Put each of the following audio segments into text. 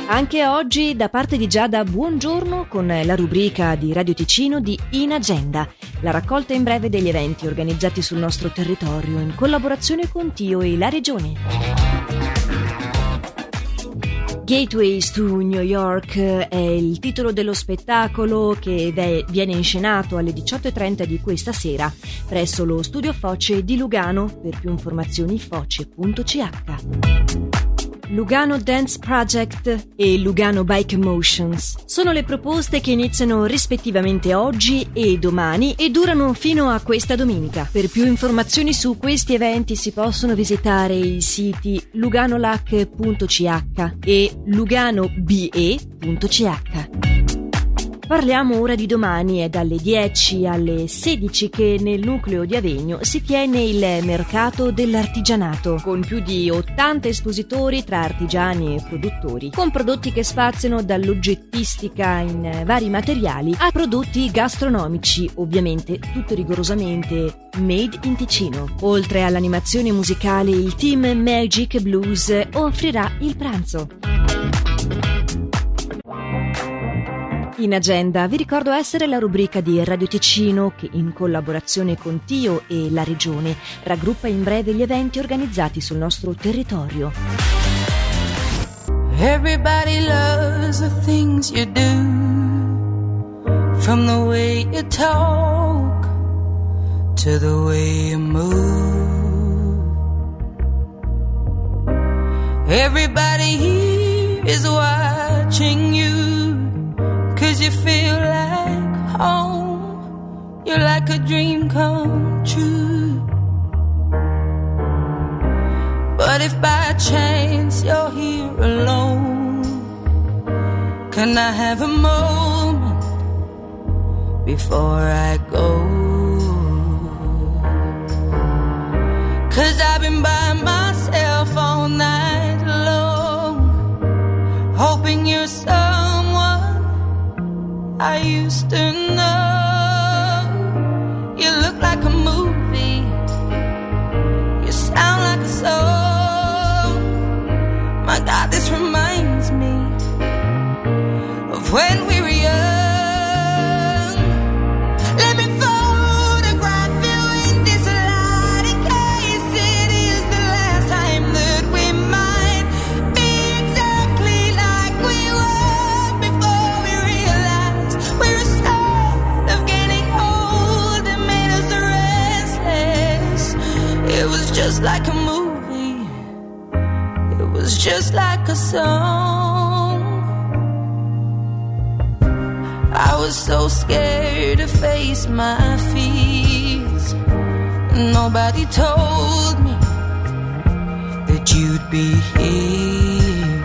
Anche oggi da parte di Giada buongiorno con la rubrica di Radio Ticino di In Agenda, la raccolta in breve degli eventi organizzati sul nostro territorio in collaborazione con Tio e la Regione. Gateways to New York è il titolo dello spettacolo che viene inscenato alle 18:30 di questa sera presso lo Studio Foce di Lugano. Per più informazioni foce.ch. Lugano Dance Project e Lugano Bike Motions sono le proposte che iniziano rispettivamente oggi e domani e durano fino a questa domenica. Per più informazioni su questi eventi si possono visitare i siti luganolac.ch e luganobe.ch. Parliamo ora di domani. È dalle 10 alle 16 che nel nucleo di Avegno si tiene il mercato dell'artigianato, con più di 80 espositori tra artigiani e produttori, con prodotti che spaziano dall'oggettistica in vari materiali a prodotti gastronomici, ovviamente tutto rigorosamente made in Ticino. Oltre all'animazione musicale, il team Magic Blues offrirà il pranzo. In Agenda vi ricordo essere la rubrica di Radio Ticino che, in collaborazione con Tio e la Regione, raggruppa in breve gli eventi organizzati sul nostro territorio. Everybody loves the things you do, from the way you talk to the way you move. Everybody here is watching you, 'cause you feel like home, you're like a dream come true. But if by chance you're here alone, can I have a moment before I go? 'Cause I've been by myself all night long, hoping you're someone I used to know. You look like a movie, you sound like a song. My God, this reminds me of when we were young. Let me photograph you in this light, in case it is the last time that we might be exactly like we were before we realized we're scared of getting old and made us restless. It was just like a movie, it was just like a song. I was so scared to face my fears, nobody told me that you'd be here.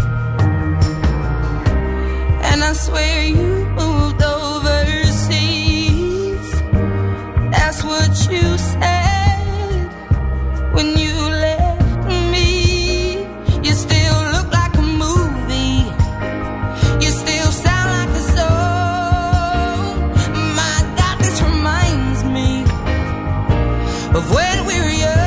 And I swear you moved overseas, that's what you said when you left me. You still look like a movie, you still sound like a song. My God, this reminds me of when we were young.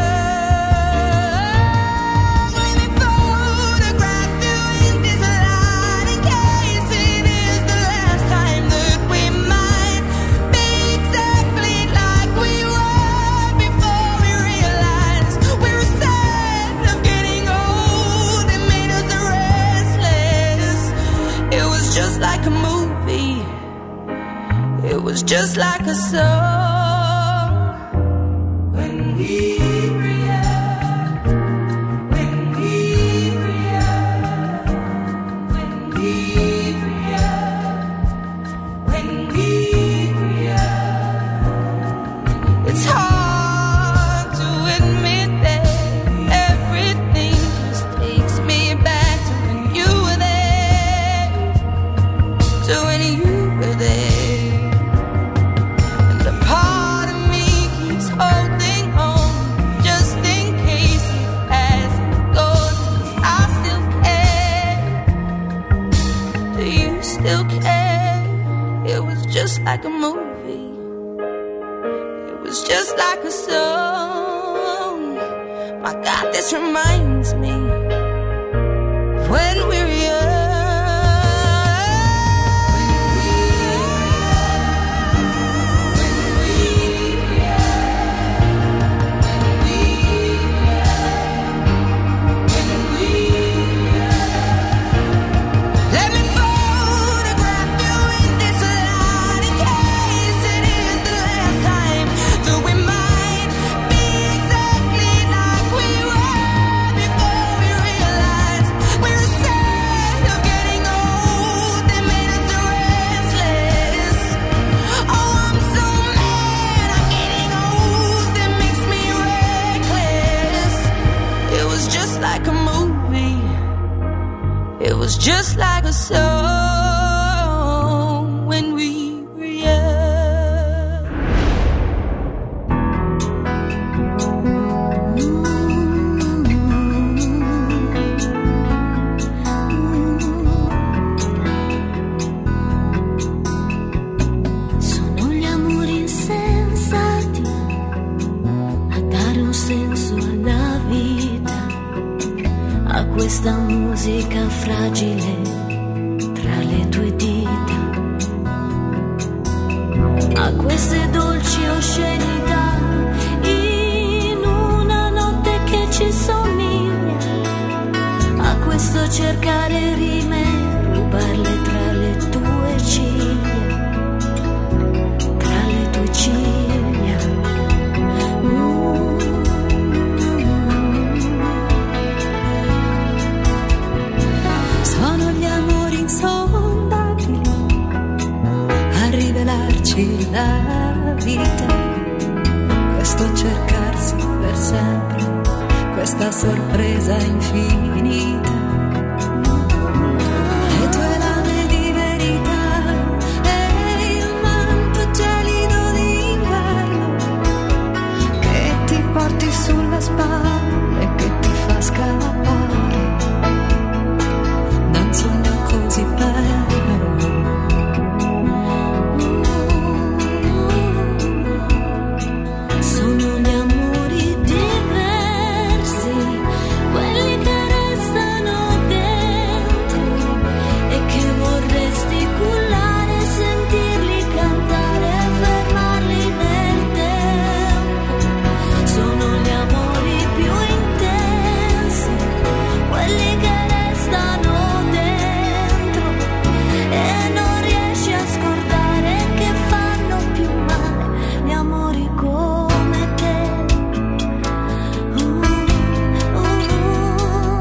Just like a movie, it was just like a song. When we were young, when we were young, when we were young, when we were young. It's hard to admit that everything just takes me back to when you were there, to when you were there. And a part of me keeps holding on, just in case it hasn't gone, 'cause I still care. Do you still care? It was just like a movie, it was just like a song. My God, this reminds me of when we were young. like a movie. It was just like a song when we were young. Sono gli amori insensati a dare un senso alla vita, a questa musica fragile tra le tue dita, a queste dolci oscenità in una notte che ci somiglia, a questo cercare rime, rubarle tra le tue ciglia, tra le tue ciglia. Sono gli amori insondabili a rivelarci la vita, questo cercarsi per sempre, questa sorpresa infinita.